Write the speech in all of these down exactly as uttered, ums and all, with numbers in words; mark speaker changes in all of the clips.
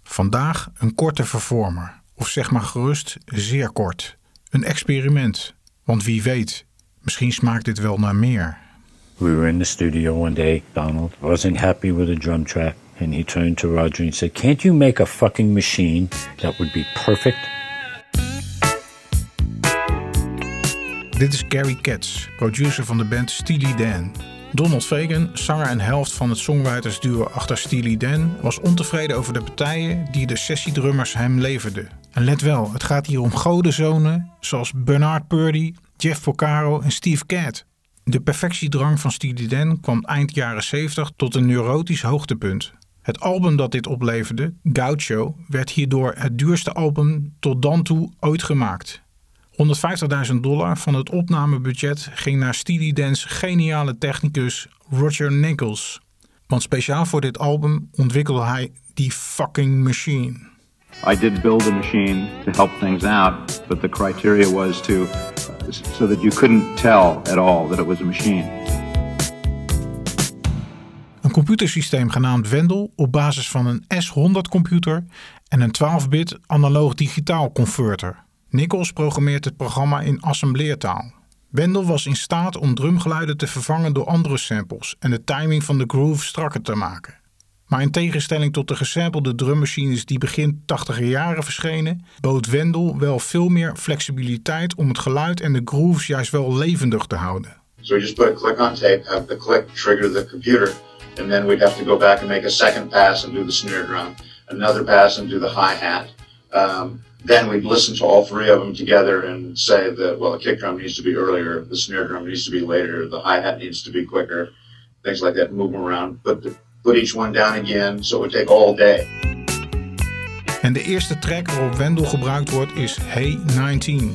Speaker 1: Vandaag een korte vervormer, of zeg maar gerust zeer kort. Een experiment, want wie weet, misschien smaakt dit wel naar meer.
Speaker 2: We were in the studio one day. Donald wasn't happy with the drum track, and he turned to Roger and said, "Can't you make a fucking machine that would be perfect?"
Speaker 1: Dit is Gary Katz, producer van de band Steely Dan. Donald Fagen, zanger en helft van het songwritersduo achter Steely Dan, was ontevreden over de partijen die de sessiedrummers hem leverden. En let wel, het gaat hier om godenzonen zoals Bernard Purdie, Jeff Porcaro en Steve Gadd. De perfectiedrang van Steely Dan kwam eind jaren zeventig tot een neurotisch hoogtepunt. Het album dat dit opleverde, Gaucho, werd hierdoor het duurste album tot dan toe ooit gemaakt. honderdvijftigduizend dollar van het opnamebudget ging naar Steely Dan's geniale technicus Roger Nichols. Want speciaal voor dit album ontwikkelde hij die fucking machine.
Speaker 3: I did build a machine to help things out, but the criteria was to so that you couldn't tell at all that it was a machine.
Speaker 1: Een computersysteem genaamd Wendell op basis van een S honderd computer en een twaalf-bit analoog-digitaal converter. Nichols programmeert het programma in assembleertaal. Wendell was in staat om drumgeluiden te vervangen door andere samples en de timing van de groove strakker te maken. Maar in tegenstelling tot de gesampelde drummachines die begin tachtiger jaren verschenen, bood Wendell wel veel meer flexibiliteit om het geluid en de grooves juist wel levendig te houden.
Speaker 4: So we just put a click on tape, have the click trigger the computer, and then we'd have to go back and make a second pass and do the snare drum, another pass and do the hi-hat. Um, then we'd listen to all three of them together and say that, well, the kick drum needs to be earlier, the snare drum needs to be later, the hi-hat needs to be quicker, things like that, move them around, put, the, put each one down again, so it would take all day.
Speaker 1: En de eerste track waarop Wendell gebruikt wordt is Hey negentien.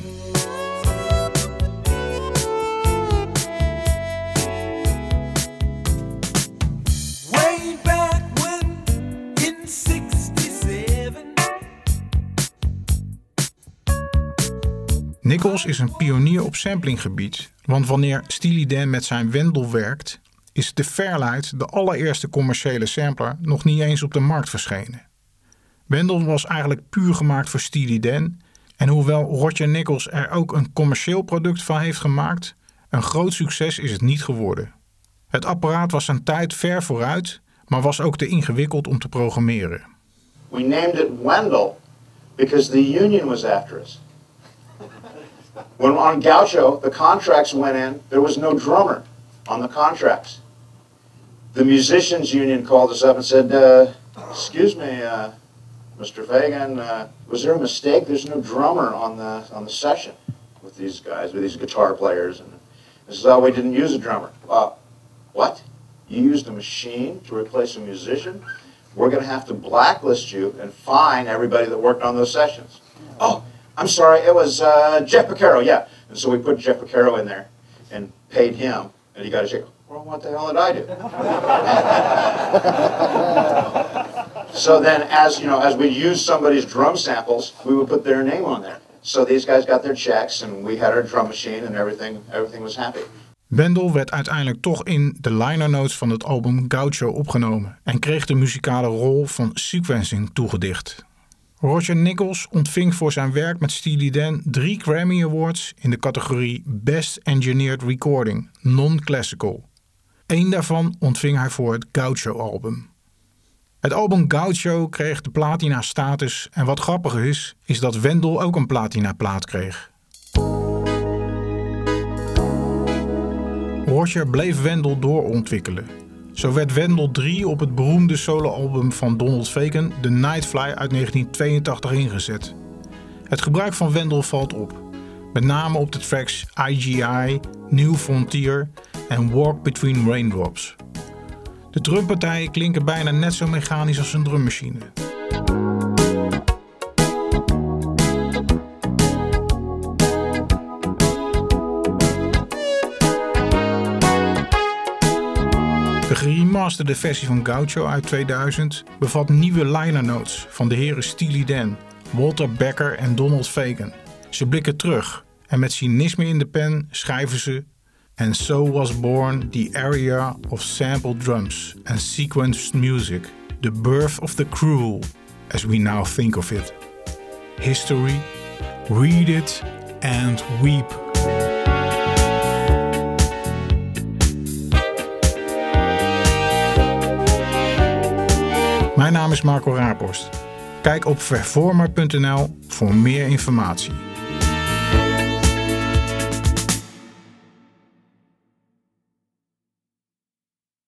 Speaker 1: Nichols is een pionier op samplinggebied, want wanneer Steely Dan met zijn Wendell werkt, is de Fairlight, de allereerste commerciële sampler, nog niet eens op de markt verschenen. Wendell was eigenlijk puur gemaakt voor Steely Dan en hoewel Roger Nichols er ook een commercieel product van heeft gemaakt, een groot succes is het niet geworden. Het apparaat was zijn tijd ver vooruit, maar was ook te ingewikkeld om te programmeren.
Speaker 4: We named it Wendell because the union was after us. When on Gaucho, the contracts went in, there was no drummer on the contracts. The musicians union called us up and said, uh, excuse me, uh, Mister Fagen, uh, was there a mistake? There's no drummer on the on the session with these guys, with these guitar players. And this is how we didn't use a drummer. Uh, what? You used a machine to replace a musician? We're going to have to blacklist you and fine everybody that worked on those sessions. Oh, I'm sorry, it was uh, Jeff Porcaro, yeah. And so we put Jeff Porcaro in there and paid him. And he got to say, well, what the hell did I do? So then as, you know, as we used somebody's drum samples, we would put their name on there. So these guys got their checks and we had our drum machine and everything, everything was happy.
Speaker 1: Wendell werd uiteindelijk toch in de liner notes van het album Gaucho opgenomen en kreeg de muzikale rol van sequencing toegedicht. Roger Nichols ontving voor zijn werk met Steely Dan drie Grammy Awards in de categorie Best Engineered Recording, Non-Classical. Eén daarvan ontving hij voor het Gaucho-album. Het album Gaucho kreeg de platina-status en wat grappig is, is dat Wendell ook een platina-plaat kreeg. Roger bleef Wendell doorontwikkelen. Zo werd Wendell drie op het beroemde soloalbum van Donald Fagen, The Nightfly uit negentien tweeëntachtig ingezet. Het gebruik van Wendell valt op, met name op de tracks I G I, New Frontier en Walk Between Raindrops. De drumpartijen klinken bijna net zo mechanisch als een drummachine. De geremasterde versie van Gaucho uit tweeduizend bevat nieuwe liner notes van de heren Steely Dan, Walter Becker en Donald Fagen. Ze blikken terug en met cynisme in de pen schrijven ze: And so was born the area of sampled drums and sequenced music, the birth of the cruel, as we now think of it. History, read it and weep. Mijn naam is Marco Raaphorst. Kijk op vervormer punt n l voor meer informatie.